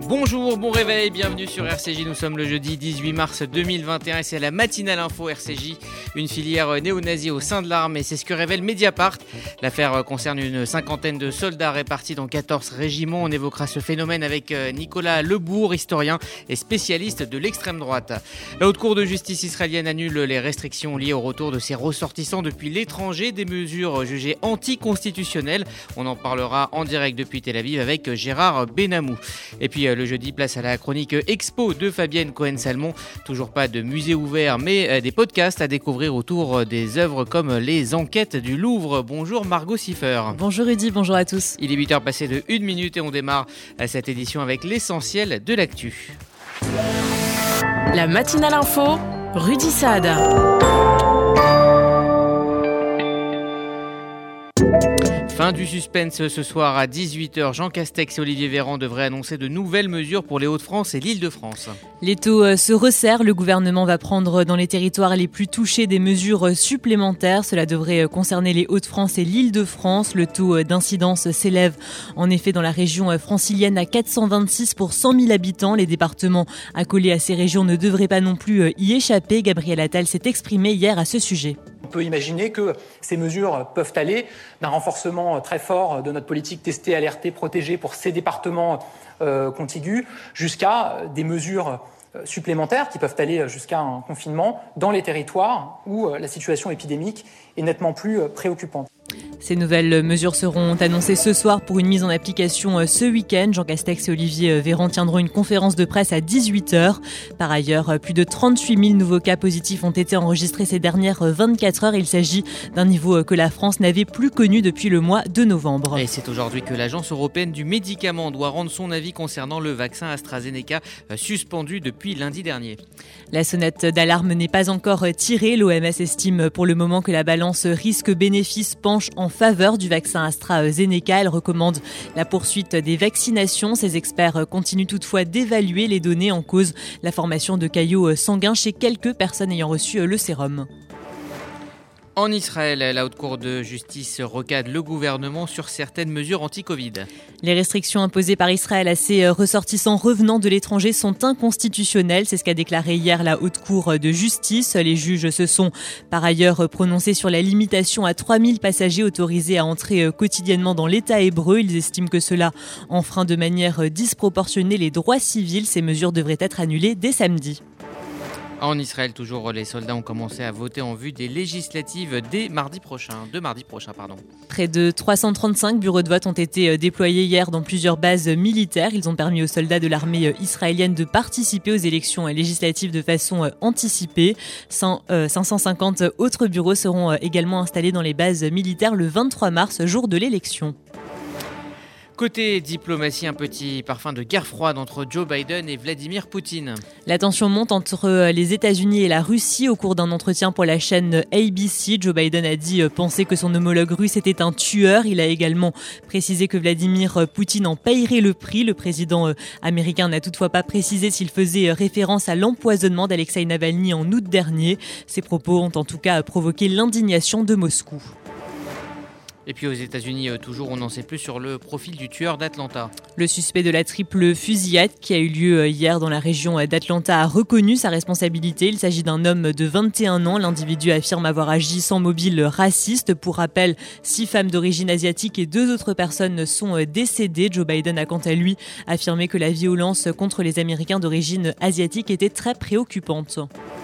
Bonjour, bon réveil, bienvenue sur RCJ. Nous sommes le jeudi 18 mars 2021 et c'est la matinale info RCJ, une filière néo-nazie au sein de l'armée. C'est ce que révèle Mediapart. L'affaire concerne une cinquantaine de soldats répartis dans 14 régiments. On évoquera ce phénomène avec Nicolas Lebourg, historien et spécialiste de l'extrême droite. La haute cour de justice israélienne annule les restrictions liées au retour de ses ressortissants depuis l'étranger, des mesures jugées anticonstitutionnelles. On en parlera en direct depuis Tel Aviv avec Gérard Benamou. Et puis le jeudi, place à la chronique Expo de Fabienne Cohen-Salmon. Toujours pas de musée ouvert, mais des podcasts à découvrir autour des œuvres comme les enquêtes du Louvre. Bonjour Margot Siffer. Bonjour Rudy, bonjour à tous. Il est 8h passé de 1 minute et on démarre cette édition avec l'essentiel de l'actu. La matinale info, Rudy Saad. Fin du suspense ce soir à 18h. Jean Castex et Olivier Véran devraient annoncer de nouvelles mesures pour les Hauts-de-France et l'Île-de-France. Les taux se resserrent. Le gouvernement va prendre dans les territoires les plus touchés des mesures supplémentaires. Cela devrait concerner les Hauts-de-France et l'Île-de-France. Le taux d'incidence s'élève en effet dans la région francilienne à 426 pour 100 000 habitants. Les départements accolés à ces régions ne devraient pas non plus y échapper. Gabriel Attal s'est exprimé hier à ce sujet. On peut imaginer que ces mesures peuvent aller d'un renforcement très fort de notre politique tester, alerter, protéger pour ces départements contigus jusqu'à des mesures supplémentaires qui peuvent aller jusqu'à un confinement dans les territoires où la situation épidémique est nettement plus préoccupante. Ces nouvelles mesures seront annoncées ce soir pour une mise en application ce week-end. Jean Castex et Olivier Véran tiendront une conférence de presse à 18h. Par ailleurs, plus de 38 000 nouveaux cas positifs ont été enregistrés ces dernières 24 heures. Il s'agit d'un niveau que la France n'avait plus connu depuis le mois de novembre. Et c'est aujourd'hui que l'Agence européenne du médicament doit rendre son avis concernant le vaccin AstraZeneca suspendu depuis lundi dernier. La sonnette d'alarme n'est pas encore tirée. L'OMS estime pour le moment que la balance risque-bénéfice penche en faveur du vaccin AstraZeneca. Elle recommande la poursuite des vaccinations. Ces experts continuent toutefois d'évaluer les données en cause, la formation de caillots sanguins chez quelques personnes ayant reçu le sérum. En Israël, la haute cour de justice recadre le gouvernement sur certaines mesures anti-Covid. Les restrictions imposées par Israël à ses ressortissants revenant de l'étranger sont inconstitutionnelles. C'est ce qu'a déclaré hier la haute cour de justice. Les juges se sont par ailleurs prononcés sur la limitation à 3000 passagers autorisés à entrer quotidiennement dans l'État hébreu. Ils estiment que cela enfreint de manière disproportionnée les droits civils. Ces mesures devraient être annulées dès samedi. En Israël, toujours, les soldats ont commencé à voter en vue des législatives de mardi prochain. Près de 335 bureaux de vote ont été déployés hier dans plusieurs bases militaires. Ils ont permis aux soldats de l'armée israélienne de participer aux élections législatives de façon anticipée. 550 autres bureaux seront également installés dans les bases militaires le 23 mars, jour de l'élection. Côté diplomatie, un petit parfum de guerre froide entre Joe Biden et Vladimir Poutine. La tension monte entre les États-Unis et la Russie. Au cours d'un entretien pour la chaîne ABC, Joe Biden a dit penser que son homologue russe était un tueur. Il a également précisé que Vladimir Poutine en payerait le prix. Le président américain n'a toutefois pas précisé s'il faisait référence à l'empoisonnement d'Alexeï Navalny en août dernier. Ces propos ont en tout cas provoqué l'indignation de Moscou. Et puis aux États-Unis, toujours, on n'en sait plus sur le profil du tueur d'Atlanta. Le suspect de la triple fusillade qui a eu lieu hier dans la région d'Atlanta a reconnu sa responsabilité. Il s'agit d'un homme de 21 ans. L'individu affirme avoir agi sans mobile raciste. Pour rappel, 6 femmes d'origine asiatique et 2 autres personnes sont décédées. Joe Biden a quant à lui affirmé que la violence contre les Américains d'origine asiatique était très préoccupante.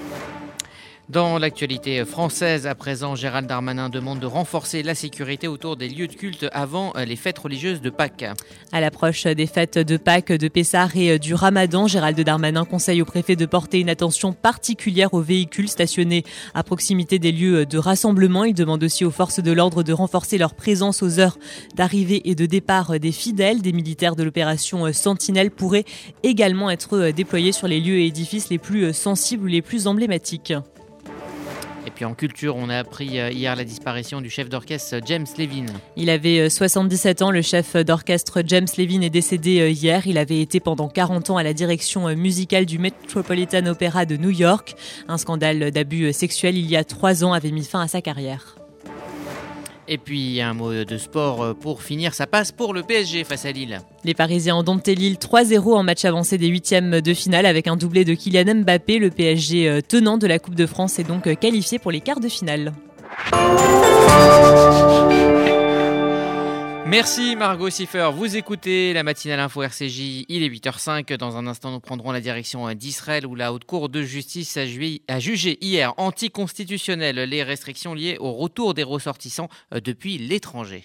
Dans l'actualité française, à présent, Gérald Darmanin demande de renforcer la sécurité autour des lieux de culte avant les fêtes religieuses de Pâques. À l'approche des fêtes de Pâques, de Pessah et du Ramadan, Gérald Darmanin conseille au préfet de porter une attention particulière aux véhicules stationnés à proximité des lieux de rassemblement. Il demande aussi aux forces de l'ordre de renforcer leur présence aux heures d'arrivée et de départ des fidèles. Des militaires de l'opération Sentinelle pourraient également être déployés sur les lieux et édifices les plus sensibles ou les plus emblématiques. Et puis en culture, on a appris hier la disparition du chef d'orchestre James Levin. Il avait 77 ans. Le chef d'orchestre James Levin est décédé hier. Il avait été pendant 40 ans à la direction musicale du Metropolitan Opera de New York. Un scandale d'abus sexuels il y a 3 ans avait mis fin à sa carrière. Et puis un mot de sport pour finir, ça passe pour le PSG face à Lille. Les Parisiens ont dompté Lille 3-0 en match avancé des huitièmes de finale avec un doublé de Kylian Mbappé. Le PSG tenant de la Coupe de France est donc qualifié pour les quarts de finale. Merci Margot Siffer, vous écoutez la matinale info RCJ, il est 8h05. Dans un instant, nous prendrons la direction d'Israël où la Haute Cour de justice a jugé hier anticonstitutionnelles les restrictions liées au retour des ressortissants depuis l'étranger.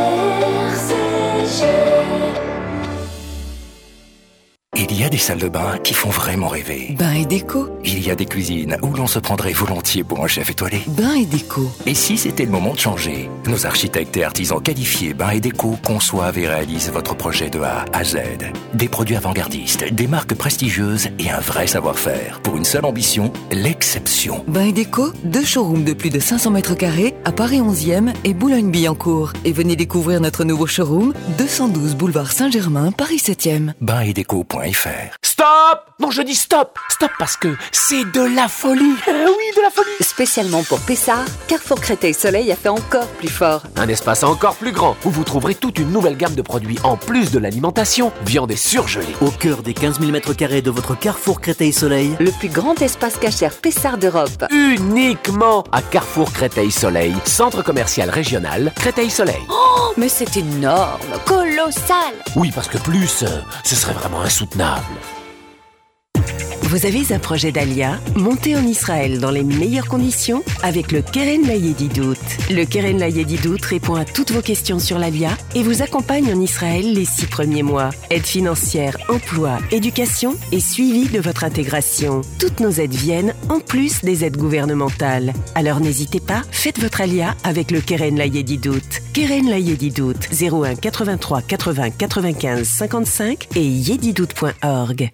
Il y a des salles de bain qui font vraiment rêver. Bain et déco. Il y a des cuisines où l'on se prendrait volontiers pour un chef étoilé. Bain et déco. Et si c'était le moment de changer? Nos architectes et artisans qualifiés Bain et Déco conçoivent et réalisent votre projet de A à Z. Des produits avant-gardistes, des marques prestigieuses et un vrai savoir-faire. Pour une seule ambition, l'exception. Bain et déco, 2 showrooms de plus de 500 mètres carrés à Paris 11e et Boulogne-Billancourt. Et venez découvrir notre nouveau showroom, 212 boulevard Saint-Germain, Paris 7e. Bainetdeco.fr. Stop! Non, je dis stop! Stop parce que c'est de la folie! Oui, de la folie! Spécialement pour Pessard, Carrefour Créteil Soleil a fait encore plus fort. Un espace encore plus grand où vous trouverez toute une nouvelle gamme de produits en plus de l'alimentation, viande et surgelée. Au cœur des 15 000 m² de votre Carrefour Créteil Soleil, Le plus grand espace cachère Pessard d'Europe. Uniquement à Carrefour Créteil Soleil, centre commercial régional Créteil Soleil. Oh, mais c'est énorme, colossal! Oui, parce que plus, ce serait vraiment insoutenable. Vous avez un projet d'Alia? Montez en Israël dans les meilleures conditions avec le Keren Layedidout. Le Keren Layedidout répond à toutes vos questions sur l'Alia et vous accompagne en Israël les 6 premiers mois. Aide financière, emploi, éducation et suivi de votre intégration. Toutes nos aides viennent en plus des aides gouvernementales. Alors n'hésitez pas, faites votre Alia avec le Keren Layedidout. Keren Layedidout, 01 83 80 95 55 et yedidout.org.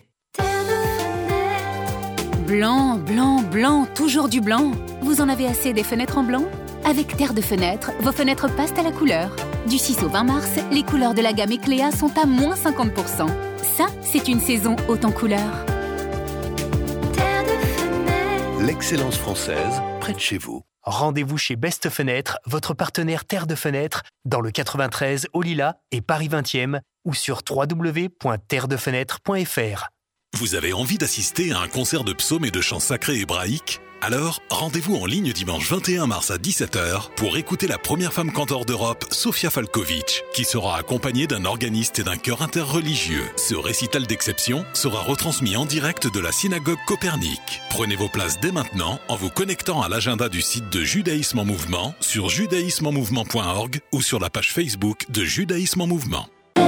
Blanc, blanc, blanc, toujours du blanc. Vous en avez assez des fenêtres en blanc? Avec Terre de Fenêtre, vos fenêtres passent à la couleur. Du 6 au 20 mars, les couleurs de la gamme Ecléa sont à moins 50%. Ça, c'est une saison haute en couleurs. Terre de Fenêtre. L'excellence française, près de chez vous. Rendez-vous chez Best Fenêtre, votre partenaire Terre de Fenêtre, dans le 93 au Lilas et Paris 20e ou sur www.terredefenêtre.fr. Vous avez envie d'assister à un concert de psaumes et de chants sacrés hébraïques? Alors, rendez-vous en ligne dimanche 21 mars à 17h pour écouter la première femme cantor d'Europe, Sofia Falkovic, qui sera accompagnée d'un organiste et d'un chœur interreligieux. Ce récital d'exception sera retransmis en direct de la synagogue Copernic. Prenez vos places dès maintenant en vous connectant à l'agenda du site de Judaïsme en Mouvement sur judaismemouvement.org ou sur la page Facebook de Judaïsme en Mouvement.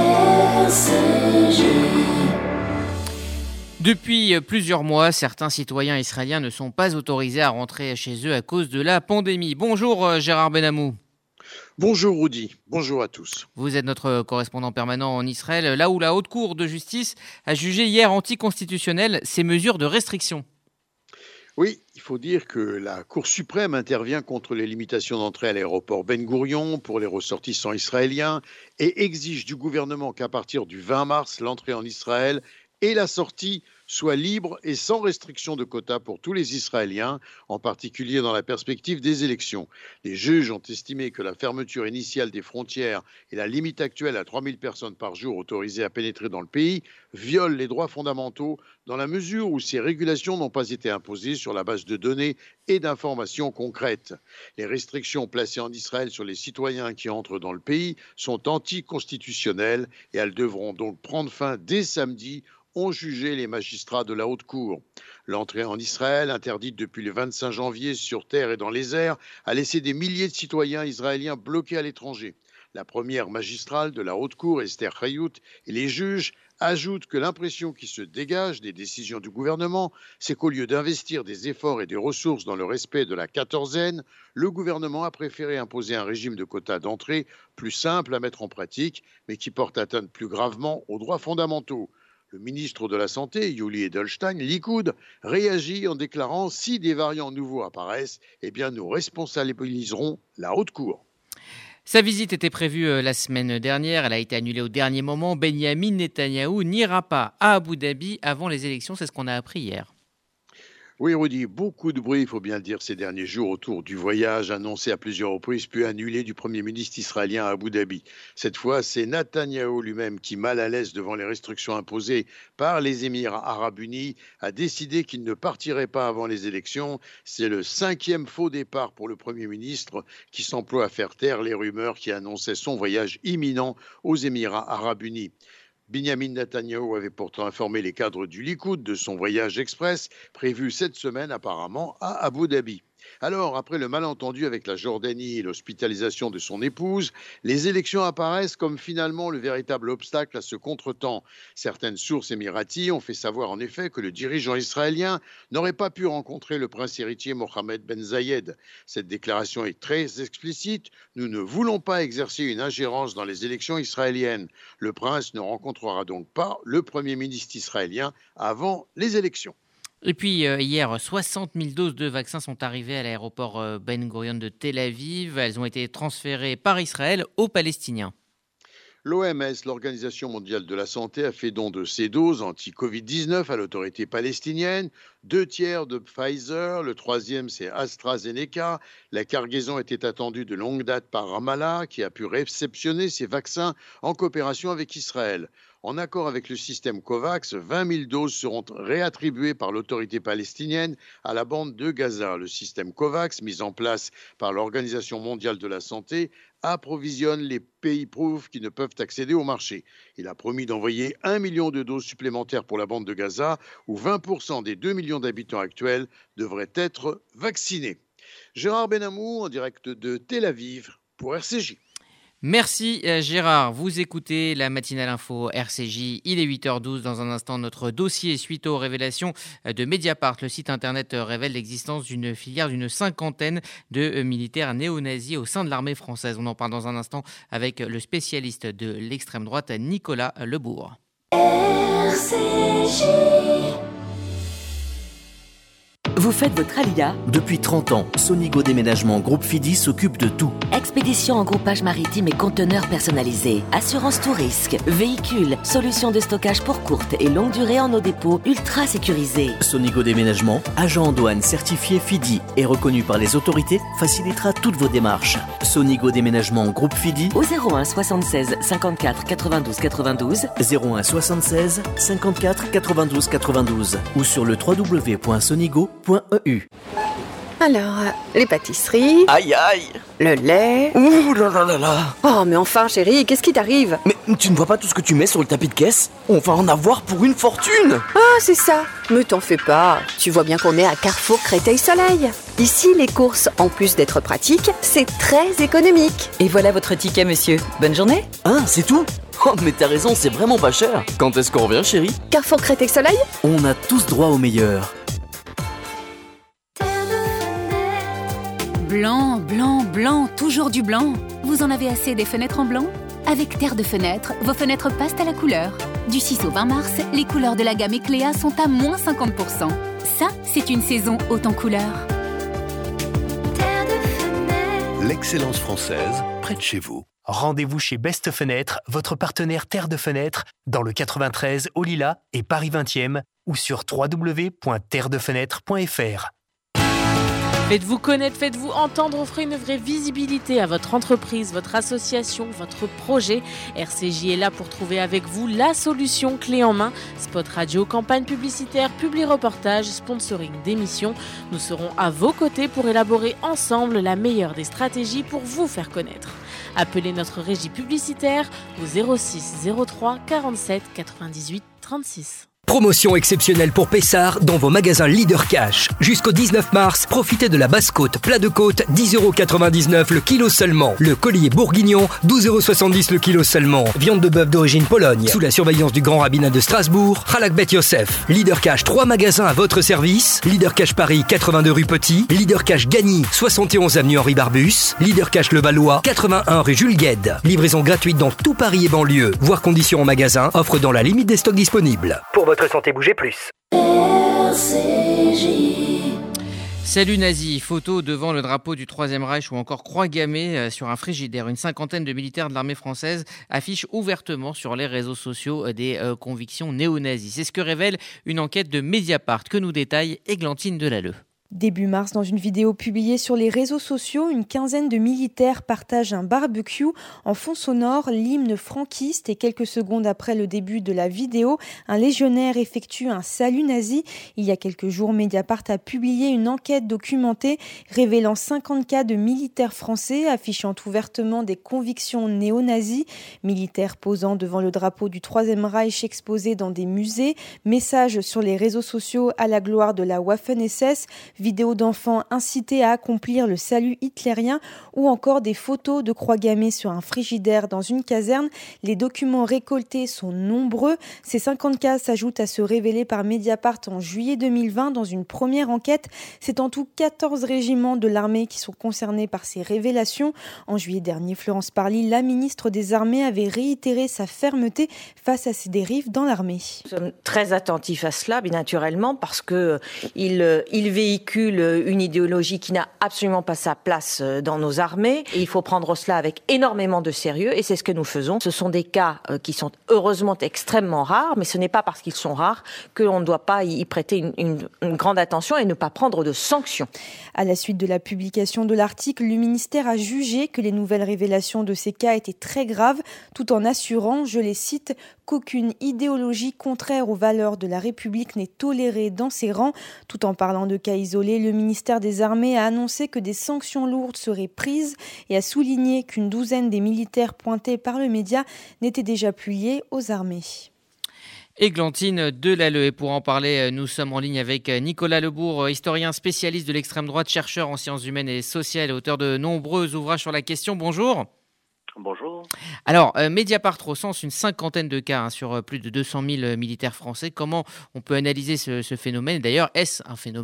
Depuis plusieurs mois, certains citoyens israéliens ne sont pas autorisés à rentrer chez eux à cause de la pandémie. Bonjour Gérard Benamou. Bonjour Rudy, bonjour à tous. Vous êtes notre correspondant permanent en Israël, là où la Haute Cour de justice a jugé hier anticonstitutionnelles ces mesures de restriction. Oui, il faut dire que la Cour suprême intervient contre les limitations d'entrée à l'aéroport Ben Gourion pour les ressortissants israéliens et exige du gouvernement qu'à partir du 20 mars, l'entrée en Israël et la sortie soit libre et sans restriction de quotas pour tous les Israéliens, en particulier dans la perspective des élections. Les juges ont estimé que la fermeture initiale des frontières et la limite actuelle à 3000 personnes par jour autorisées à pénétrer dans le pays violent les droits fondamentaux dans la mesure où ces régulations n'ont pas été imposées sur la base de données et d'informations concrètes. Les restrictions placées en Israël sur les citoyens qui entrent dans le pays sont anticonstitutionnelles et elles devront donc prendre fin dès samedi, ont jugé les magistrats de la Haute Cour. L'entrée en Israël, interdite depuis le 25 janvier sur terre et dans les airs, a laissé des milliers de citoyens israéliens bloqués à l'étranger. La première magistrale de la Haute Cour, Esther Chayout, et les juges ajoutent que l'impression qui se dégage des décisions du gouvernement, c'est qu'au lieu d'investir des efforts et des ressources dans le respect de la quatorzaine, le gouvernement a préféré imposer un régime de quotas d'entrée plus simple à mettre en pratique, mais qui porte atteinte plus gravement aux droits fondamentaux. Le ministre de la Santé, Yuli Edelstein, Likoud, réagit en déclarant « Si des variants nouveaux apparaissent, eh bien nous responsabiliserons la Haute Cour ». Sa visite était prévue la semaine dernière. Elle a été annulée au dernier moment. Benyamin Netanyahou n'ira pas à Abu Dhabi avant les élections. C'est ce qu'on a appris hier. Oui, Rudy, beaucoup de bruit, il faut bien le dire, ces derniers jours autour du voyage annoncé à plusieurs reprises puis annulé du Premier ministre israélien à Abu Dhabi. Cette fois, c'est Netanyahou lui-même qui, mal à l'aise devant les restrictions imposées par les Émirats arabes unis, a décidé qu'il ne partirait pas avant les élections. C'est le 5e faux départ pour le Premier ministre qui s'emploie à faire taire les rumeurs qui annonçaient son voyage imminent aux Émirats arabes unis. Binyamin Netanyahou avait pourtant informé les cadres du Likoud de son voyage express prévu cette semaine apparemment à Abu Dhabi. Alors, après le malentendu avec la Jordanie et l'hospitalisation de son épouse, les élections apparaissent comme finalement le véritable obstacle à ce contretemps. Certaines sources émiraties ont fait savoir en effet que le dirigeant israélien n'aurait pas pu rencontrer le prince héritier Mohammed Ben Zayed. Cette déclaration est très explicite. Nous ne voulons pas exercer une ingérence dans les élections israéliennes. Le prince ne rencontrera donc pas le Premier ministre israélien avant les élections. Et puis hier, 60 000 doses de vaccins sont arrivées à l'aéroport Ben Gurion de Tel Aviv. Elles ont été transférées par Israël aux Palestiniens. L'OMS, l'Organisation mondiale de la santé, a fait don de ces doses anti-Covid-19 à l'autorité palestinienne. 2 tiers de Pfizer, le 3e c'est AstraZeneca. La cargaison était attendue de longue date par Ramallah, qui a pu réceptionner ces vaccins en coopération avec Israël. En accord avec le système COVAX, 20 000 doses seront réattribuées par l'autorité palestinienne à la bande de Gaza. Le système COVAX, mis en place par l'Organisation mondiale de la santé, approvisionne les pays pauvres qui ne peuvent accéder au marché. Il a promis d'envoyer 1 million de doses supplémentaires pour la bande de Gaza, où 20% des 2 millions d'habitants actuels devraient être vaccinés. Gérard Benamou, en direct de Tel Aviv, pour RCJ. Merci Gérard, vous écoutez la matinale info RCJ, il est 8h12, dans un instant notre dossier suite aux révélations de Mediapart. Le site internet révèle l'existence d'une filière d'une 50aine de militaires néo-nazis au sein de l'armée française. On en parle dans un instant avec le spécialiste de l'extrême droite Nicolas Lebourg. RCJ. Vous faites votre alia ? Depuis 30 ans, Sonigo Déménagement Groupe Fidi s'occupe de tout. Expédition en groupage maritime et conteneurs personnalisés, assurance tout risque, véhicules, solutions de stockage pour courte et longue durée en nos dépôts ultra sécurisés. Sonigo Déménagement, agent en douane certifié Fidi et reconnu par les autorités, facilitera toutes vos démarches. Sonigo Déménagement Groupe Fidi au 01 76 54 92 92 01 76 54 92 92 ou sur le www.sonigo.eu. Alors, les pâtisseries... Aïe aïe. Le lait... Ouh là là là là. Oh, mais enfin, chérie, qu'est-ce qui t'arrive ? Mais tu ne vois pas tout ce que tu mets sur le tapis de caisse ? On va en avoir pour une fortune. Ah, c'est ça. Mais t'en fais pas. Tu vois bien qu'on est à Carrefour Créteil-Soleil. Ici, les courses, en plus d'être pratiques, c'est très économique. Et voilà votre ticket, monsieur. Bonne journée. Ah, c'est tout ? Oh, mais t'as raison, c'est vraiment pas cher. Quand est-ce qu'on revient, chérie ? Carrefour Créteil-Soleil ? On a tous droit au meilleur. Blanc, blanc, blanc, toujours du blanc. Vous en avez assez des fenêtres en blanc ? Avec Terre de Fenêtre, vos fenêtres passent à la couleur. Du 6 au 20 mars, les couleurs de la gamme Ecléa sont à moins 50%. Ça, c'est une saison haute en couleurs. Terre de Fenêtre. L'excellence française, près de chez vous. Rendez-vous chez Best Fenêtre, votre partenaire Terre de Fenêtre, dans le 93 au Lilas et Paris 20e ou sur www.terredefenêtre.fr. Faites-vous connaître, faites-vous entendre, offrez une vraie visibilité à votre entreprise, votre association, votre projet. RCJ est là pour trouver avec vous la solution clé en main. Spot radio, campagne publicitaire, publi-reportage, sponsoring d'émissions. Nous serons à vos côtés pour élaborer ensemble la meilleure des stratégies pour vous faire connaître. Appelez notre régie publicitaire au 06 03 47 98 36. Promotion exceptionnelle pour Pessard dans vos magasins Leader Cash. Jusqu'au 19 mars, profitez de la basse côte, plat de côte, 10,99€ le kilo seulement. Le collier bourguignon, 12,70€ le kilo seulement. Viande de bœuf d'origine Pologne, sous la surveillance du grand rabbinat de Strasbourg, Halak Bet Yosef. Leader Cash, 3 magasins à votre service. Leader Cash Paris, 82 rue Petit. Leader Cash Gagny, 71 avenue Henri Barbus. Leader Cash Levallois, 81 rue Jules Guesde. Livraison gratuite dans tout Paris et banlieue. Voir conditions en magasin, offre dans la limite des stocks disponibles. Pour votre santé, bougez plus. Salut nazi, photo devant le drapeau du Troisième Reich ou encore croix gammée sur un frigidaire. Une cinquantaine de militaires de l'armée française affichent ouvertement sur les réseaux sociaux des convictions néo-nazis. C'est ce que révèle une enquête de Mediapart que nous détaille Églantine Delalleux. Début mars, dans une vidéo publiée sur les réseaux sociaux, une quinzaine de militaires partagent un barbecue. En fond sonore, l'hymne franquiste et quelques secondes après le début de la vidéo, un légionnaire effectue un salut nazi. Il y a quelques jours, Mediapart a publié une enquête documentée révélant 50 cas de militaires français affichant ouvertement des convictions néo-nazis. Militaires posant devant le drapeau du Troisième Reich exposé dans des musées, messages sur les réseaux sociaux à la gloire de la Waffen-SS, vidéos d'enfants incités à accomplir le salut hitlérien ou encore des photos de croix gammées sur un frigidaire dans une caserne. Les documents récoltés sont nombreux. Ces 50 cas s'ajoutent à ceux révélés par Mediapart en juillet 2020 dans une première enquête. C'est en tout 14 régiments de l'armée qui sont concernés par ces révélations. En juillet dernier, Florence Parly, la ministre des Armées, avait réitéré sa fermeté face à ces dérives dans l'armée. Nous sommes très attentifs à cela, bien naturellement, parce qu'il véhicule une idéologie qui n'a absolument pas sa place dans nos armées. Et il faut prendre cela avec énormément de sérieux et c'est ce que nous faisons. Ce sont des cas qui sont heureusement extrêmement rares, mais ce n'est pas parce qu'ils sont rares qu'on ne doit pas y prêter une grande attention et ne pas prendre de sanctions. À la suite de la publication de l'article, le ministère a jugé que les nouvelles révélations de ces cas étaient très graves, tout en assurant, je les cite, qu'aucune idéologie contraire aux valeurs de la République n'est tolérée dans ses rangs. Tout en parlant de cas isolés, le ministère des Armées a annoncé que des sanctions lourdes seraient prises et a souligné qu'une douzaine des militaires pointés par le média n'étaient déjà plus liés aux armées. Églantine Delalleux. Et pour en parler, nous sommes en ligne avec Nicolas Lebourg, historien spécialiste de l'extrême droite, chercheur en sciences humaines et sociales, auteur de nombreux ouvrages sur la question. Bonjour. Bonjour. Alors, Mediapart recense une cinquantaine de cas sur plus de 200 000 militaires français. Comment on peut analyser ce phénomène ? D'ailleurs, est-ce un phénomène ?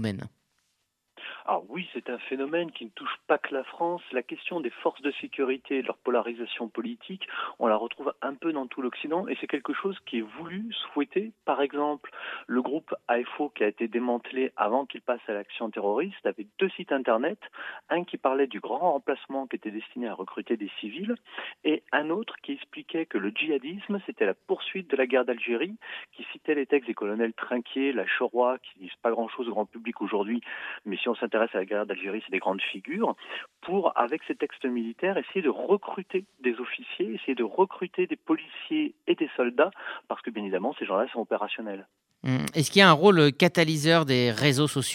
Alors oui, c'est un phénomène qui ne touche pas que la France. La question des forces de sécurité et de leur polarisation politique, on la retrouve un peu dans tout l'Occident et c'est quelque chose qui est voulu, souhaité. Par exemple, le groupe AFO qui a été démantelé avant qu'il passe à l'action terroriste avait 2 sites internet, un qui parlait du grand remplacement qui était destiné à recruter des civils et un autre qui expliquait que le djihadisme c'était la poursuite de la guerre d'Algérie, qui citait les textes des colonels Trinquier, Lacheroy, qui disent pas grand-chose au grand public aujourd'hui, mais si on s'intéresse à la guerre d'Algérie, c'est des grandes figures, pour, avec ces textes militaires, essayer de recruter des officiers, essayer de recruter des policiers et des soldats, parce que bien évidemment, ces gens-là sont opérationnels. Est-ce qu'il y a un rôle catalyseur des réseaux sociaux ?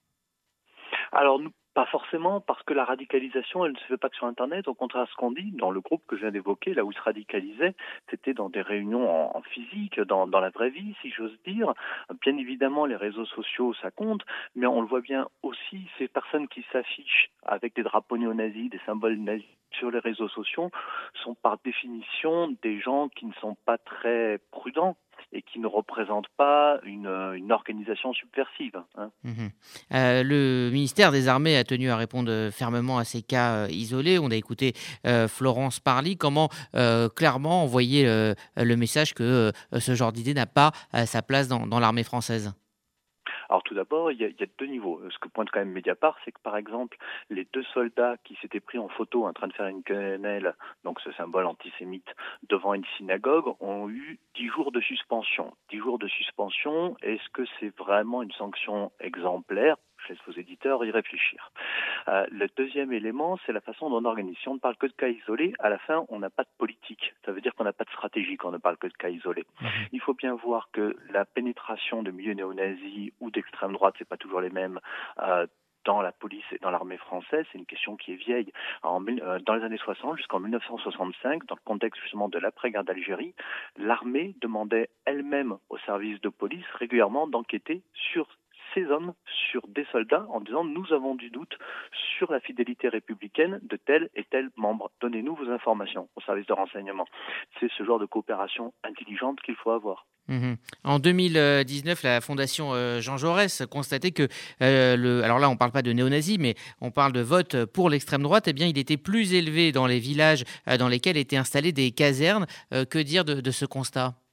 Alors, pas forcément, parce que la radicalisation, elle ne se fait pas que sur Internet. Au contraire, ce qu'on dit, dans le groupe que je viens d'évoquer, là où ils se radicalisaient, c'était dans des réunions en physique, dans la vraie vie, si j'ose dire. Bien évidemment, les réseaux sociaux, ça compte, mais on le voit bien aussi, ces personnes qui s'affichent avec des drapeaux néo-nazis, des symboles nazis sur les réseaux sociaux, sont par définition des gens qui ne sont pas très prudents et qui ne représentent pas une organisation subversive. Le ministère des Armées a tenu à répondre fermement à ces cas isolés. On a écouté Florence Parly. Comment clairement envoyer le message que ce genre d'idée n'a pas sa place dans l'armée française ? Alors tout d'abord, il y a 2 niveaux. Ce que pointe quand même Mediapart, c'est que par exemple, les 2 soldats qui s'étaient pris en photo en train de faire une quenelle, donc ce symbole antisémite, devant une synagogue, ont eu 10 jours de suspension. 10 jours de suspension, est-ce que c'est vraiment une sanction exemplaire ? Je laisse vos éditeurs y réfléchir. Le deuxième élément, c'est la façon dont on organise. Si on ne parle que de cas isolés, à la fin, on n'a pas de politique. Ça veut dire qu'on n'a pas de stratégie quand on ne parle que de cas isolés. Il faut bien voir que la pénétration de milieux néo-nazis ou d'extrême droite, c'est pas toujours les mêmes, dans la police et dans l'armée française, c'est une question qui est vieille. Dans les années 60 jusqu'en 1965, dans le contexte justement de l'après-guerre d'Algérie, l'armée demandait elle-même aux services de police régulièrement d'enquêter sur ces hommes, sur des soldats, en disant « nous avons du doute sur la fidélité républicaine de tel et tel membre. Donnez-nous vos informations au service de renseignement ». C'est ce genre de coopération intelligente qu'il faut avoir. En 2019, la Fondation Jean Jaurès constatait que, alors là on ne parle pas de néo-nazis, mais on parle de vote pour l'extrême droite, eh bien il était plus élevé dans les villages dans lesquels étaient installées des casernes. Que dire de ce constat ?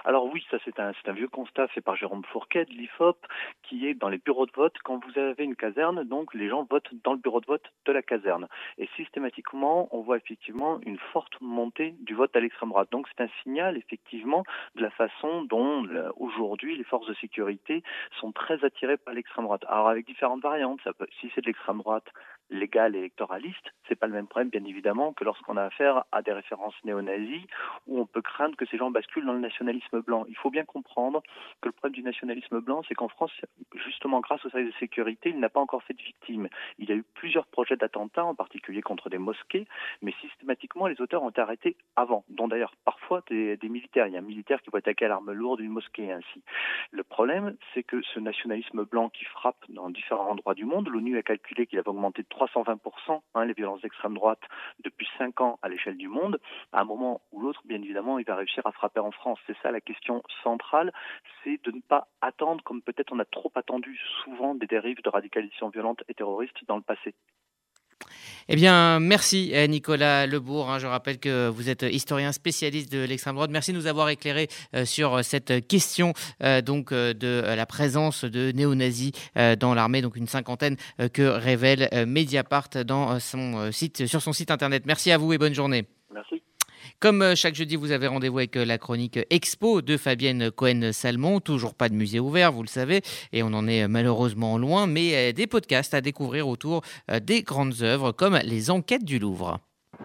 Alors oui, ça c'est un vieux constat fait par Jérôme Fourquet de l'IFOP, qui est dans les bureaux de vote. Quand vous avez une caserne, donc les gens votent dans le bureau de vote de la caserne. Et systématiquement, on voit effectivement une forte montée du vote à l'extrême droite. Donc c'est un signal effectivement de la façon dont aujourd'hui les forces de sécurité sont très attirées par l'extrême droite. Alors avec différentes variantes, si c'est de l'extrême droite légale et électoraliste, c'est pas le même problème bien évidemment que lorsqu'on a affaire à des références néo-nazis où on peut craindre que ces gens basculent dans le nationalisme blanc. Il faut bien comprendre que le problème du nationalisme blanc, c'est qu'en France, justement grâce aux services de sécurité, il n'a pas encore fait de victimes. Il y a eu plusieurs projets d'attentats, en particulier contre des mosquées, mais systématiquement les auteurs ont été arrêtés avant, dont d'ailleurs parfois des militaires. Il y a un militaire qui va attaquer à l'arme lourde une mosquée ainsi. Le problème, c'est que ce nationalisme blanc qui frappe dans différents endroits du monde, l'ONU a calculé qu'il avait augmenté de 320% les violences d'extrême droite depuis 5 ans à l'échelle du monde. À un moment ou l'autre, bien évidemment, il va réussir à frapper en France. C'est ça la question centrale, c'est de ne pas attendre, comme peut-être on a trop attendu souvent, des dérives de radicalisation violente et terroriste dans le passé. Eh bien, merci Nicolas Lebourg. Je rappelle que vous êtes historien spécialiste de l'extrême droite. Merci de nous avoir éclairé sur cette question de la présence de néo-nazis dans l'armée, donc une cinquantaine que révèle Mediapart sur son site internet. Merci à vous et bonne journée. Merci. Comme chaque jeudi, vous avez rendez-vous avec la chronique Expo de Fabienne Cohen-Salmon. Toujours pas de musée ouvert, vous le savez, et on en est malheureusement loin, mais des podcasts à découvrir autour des grandes œuvres comme les enquêtes du Louvre.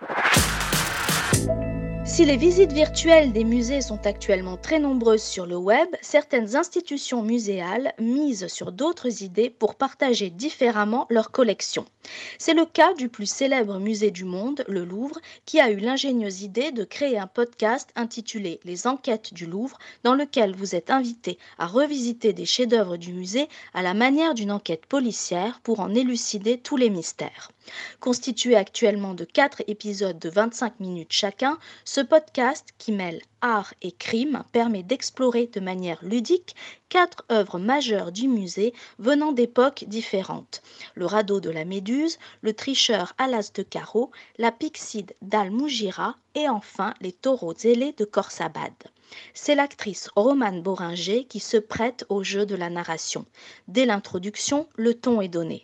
Si les visites virtuelles des musées sont actuellement très nombreuses sur le web, certaines institutions muséales misent sur d'autres idées pour partager différemment leurs collections. C'est le cas du plus célèbre musée du monde, le Louvre, qui a eu l'ingénieuse idée de créer un podcast intitulé « Les enquêtes du Louvre » dans lequel vous êtes invité à revisiter des chefs-d'œuvre du musée à la manière d'une enquête policière pour en élucider tous les mystères. Constitué actuellement de 4 épisodes de 25 minutes chacun, ce podcast qui mêle art et crime permet d'explorer de manière ludique 4 œuvres majeures du musée venant d'époques différentes. Le radeau de la Méduse, le tricheur à l'as de carreau, la pyxide d'Al-Moujira et enfin les taureaux ailés de Khorsabad. C'est l'actrice Romane Boringer qui se prête au jeu de la narration. Dès l'introduction, le ton est donné.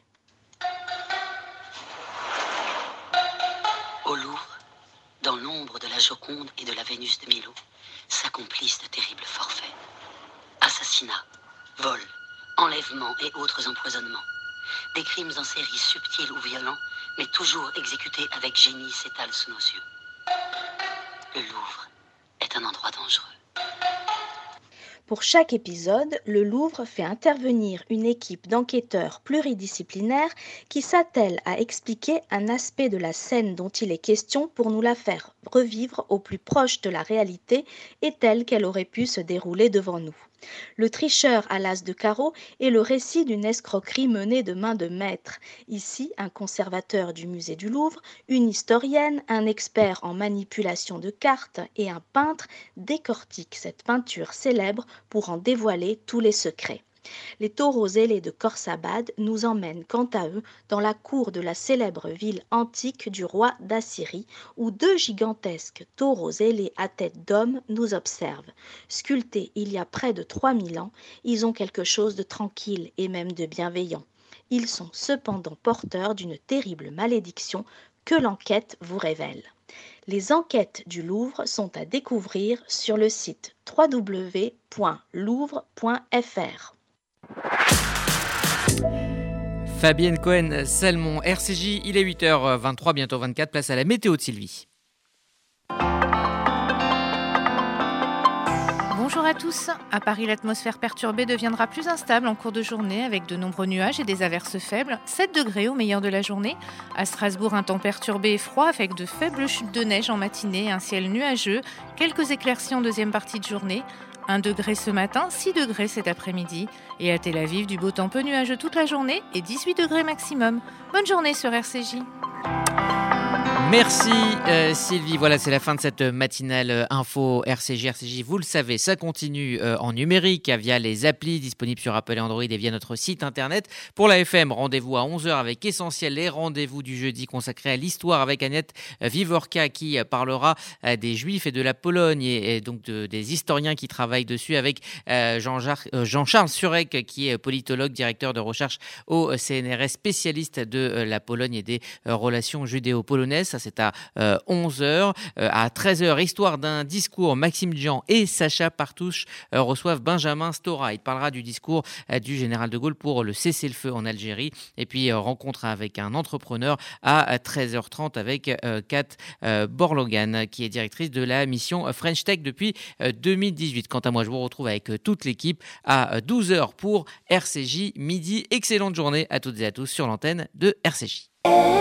Au Louvre, dans l'ombre de la Joconde et de la Vénus de Milo, s'accomplissent de terribles forfaits. Assassinats, vols, enlèvements et autres empoisonnements. Des crimes en série subtils ou violents, mais toujours exécutés avec génie s'étalent sous nos yeux. Le Louvre est un endroit dangereux. Pour chaque épisode, le Louvre fait intervenir une équipe d'enquêteurs pluridisciplinaires qui s'attellent à expliquer un aspect de la scène dont il est question pour nous la faire revivre au plus proche de la réalité et telle qu'elle aurait pu se dérouler devant nous. Le tricheur à l'as de carreau est le récit d'une escroquerie menée de main de maître. Ici, un conservateur du musée du Louvre, une historienne, un expert en manipulation de cartes et un peintre décortiquent cette peinture célèbre pour en dévoiler tous les secrets. Les taureaux ailés de Khorsabad nous emmènent quant à eux dans la cour de la célèbre ville antique du roi d'Assyrie où 2 gigantesques taureaux ailés à tête d'homme nous observent. Sculptés il y a près de 3000 ans, ils ont quelque chose de tranquille et même de bienveillant. Ils sont cependant porteurs d'une terrible malédiction que l'enquête vous révèle. Les enquêtes du Louvre sont à découvrir sur le site www.louvre.fr. Fabienne Cohen-Salmon, RCJ, il est 8h23, bientôt 24, place à la météo de Sylvie. Bonjour à tous. À Paris, l'atmosphère perturbée deviendra plus instable en cours de journée avec de nombreux nuages et des averses faibles. 7 degrés au meilleur de la journée. À Strasbourg, un temps perturbé et froid avec de faibles chutes de neige en matinée, un ciel nuageux, quelques éclaircies en deuxième partie de journée. 1 degré ce matin, 6 degrés cet après-midi. Et à Tel Aviv, du beau temps peu nuageux toute la journée et 18 degrés maximum. Bonne journée sur RCJ. Merci Sylvie, voilà c'est la fin de cette matinale info RCJ, vous le savez, ça continue en numérique via les applis disponibles sur Apple et Android et via notre site internet. Pour la FM, rendez-vous à 11h avec Essentiel, les rendez-vous du jeudi consacrés à l'histoire avec Agnès Vivorka qui parlera des Juifs et de la Pologne et donc des historiens qui travaillent dessus avec Jean-Charles Surek qui est politologue, directeur de recherche au CNRS, spécialiste de la Pologne et des relations judéo-polonaises. Ça, c'est à 11h. À 13h, histoire d'un discours, Maxime Jean et Sacha Partouche reçoivent Benjamin Stora. Il parlera du discours du général de Gaulle pour le cessez-le-feu en Algérie. Et puis, rencontre avec un entrepreneur à 13h30 avec Kat Borlogan, qui est directrice de la mission French Tech depuis 2018. Quant à moi, je vous retrouve avec toute l'équipe à 12h pour RCJ Midi. Excellente journée à toutes et à tous sur l'antenne de RCJ.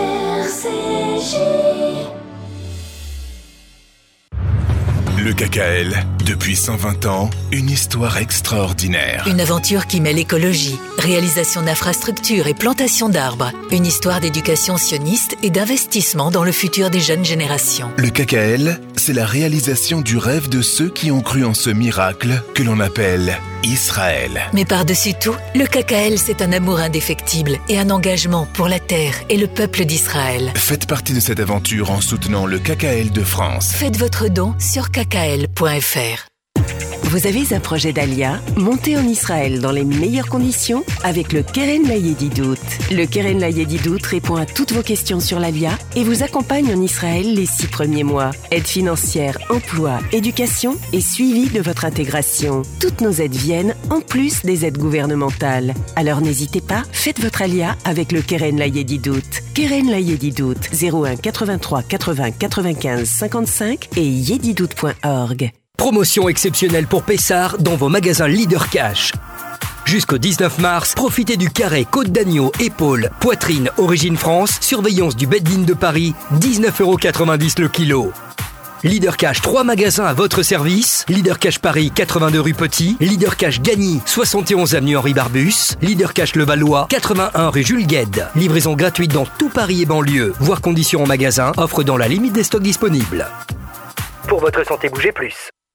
Le KKL, depuis 120 ans, une histoire extraordinaire. Une aventure qui mêle écologie, réalisation d'infrastructures et plantation d'arbres. Une histoire d'éducation sioniste et d'investissement dans le futur des jeunes générations. Le KKL, c'est la réalisation du rêve de ceux qui ont cru en ce miracle que l'on appelle Israël. Mais par-dessus tout, le KKL, c'est un amour indéfectible et un engagement pour la terre et le peuple d'Israël. Faites partie de cette aventure en soutenant le KKL de France. Faites votre don sur kkl.fr. Vous avez un projet d'Alia? Montez en Israël dans les meilleures conditions avec le Keren Layedidout. Le Keren Layedidout répond à toutes vos questions sur l'Alia et vous accompagne en Israël les 6 premiers mois. Aide financière, emploi, éducation et suivi de votre intégration. Toutes nos aides viennent en plus des aides gouvernementales. Alors n'hésitez pas, faites votre Alia avec le Keren Layedidout. Keren Layedidout 01 83 80 95 55 et yedidout.org. Promotion exceptionnelle pour Pessard dans vos magasins Leader Cash. Jusqu'au 19 mars, profitez du carré côte d'agneau, épaule, poitrine, origine France, surveillance du Bed-In de Paris, 19,90€ le kilo. Leader Cash, 3 magasins à votre service. Leader Cash Paris, 82 rue Petit. Leader Cash Gagny, 71 avenue Henri Barbus. Leader Cash Levallois, 81 rue Jules Guesde. Livraison gratuite dans tout Paris et banlieue. Voir conditions en magasin, offre dans la limite des stocks disponibles. Pour votre santé, bougez plus.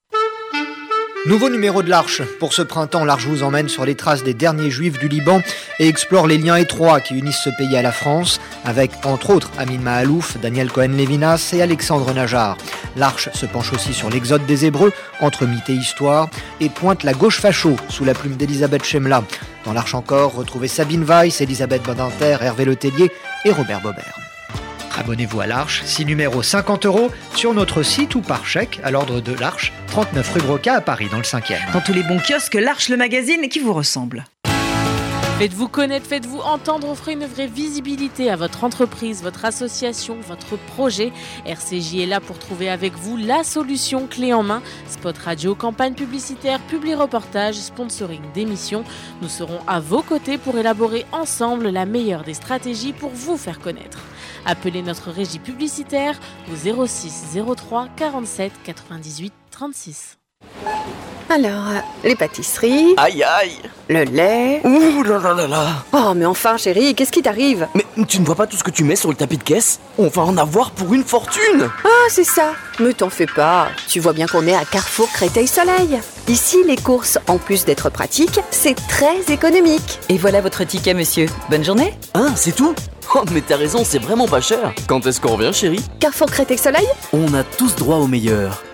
Nouveau numéro de l'Arche. Pour ce printemps, l'Arche vous emmène sur les traces des derniers juifs du Liban et explore les liens étroits qui unissent ce pays à la France, avec entre autres Amin Mahalouf, Daniel Cohen-Lévinas et Alexandre Najar. L'Arche se penche aussi sur l'exode des Hébreux, entre mythe et histoire, et pointe la gauche facho sous la plume d'Elisabeth Chemla. Dans l'Arche encore, retrouvez Sabine Weiss, Elisabeth Badinter, Hervé Letellier et Robert Bobert. Abonnez-vous à l'Arche, 6 numéros 50€ sur notre site ou par chèque à l'ordre de l'Arche, 39 rue Broca à Paris dans le 5e. Dans tous les bons kiosques, l'Arche le magazine qui vous ressemble. Faites-vous connaître, faites-vous entendre, offrez une vraie visibilité à votre entreprise, votre association, votre projet. RCJ est là pour trouver avec vous la solution clé en main. Spot radio, campagne publicitaire, publi-reportage, sponsoring d'émissions. Nous serons à vos côtés pour élaborer ensemble la meilleure des stratégies pour vous faire connaître. Appelez notre régie publicitaire au 06 03 47 98 36. Alors, les pâtisseries... Aïe aïe. Le lait... Ouh là là là là. Oh, mais enfin, chérie, qu'est-ce qui t'arrive? Mais tu ne vois pas tout ce que tu mets sur le tapis de caisse? On va en avoir pour une fortune. Ah, c'est ça. Mais t'en fais pas. Tu vois bien qu'on est à Carrefour Créteil-Soleil. Ici, les courses, en plus d'être pratiques, c'est très économique. Et voilà votre ticket, monsieur. Bonne journée. Ah, c'est tout? Oh, mais t'as raison, c'est vraiment pas cher. Quand est-ce qu'on revient, chérie? Carrefour Créteil-Soleil? On a tous droit au meilleur.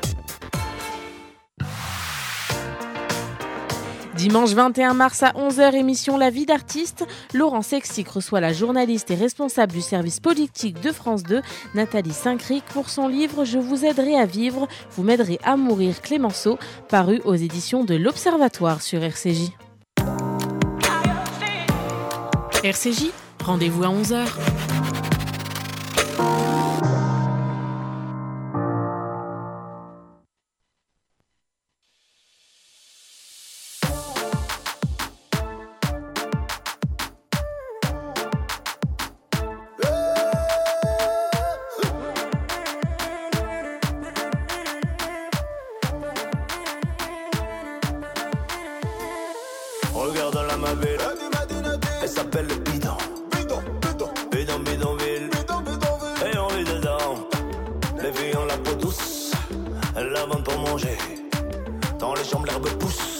Dimanche 21 mars à 11h, émission La vie d'artiste. Laurent Sexic reçoit la journaliste et responsable du service politique de France 2, Nathalie Saint-Cric, pour son livre « Je vous aiderai à vivre, vous m'aiderez à mourir » Clémenceau, paru aux éditions de l'Observatoire sur RCJ. RCJ, rendez-vous à 11h. Regarde la ma belle, elle s'appelle le bidon. Bidon, bidonville, et on vit dedans. les jambes, l'herbe pousse.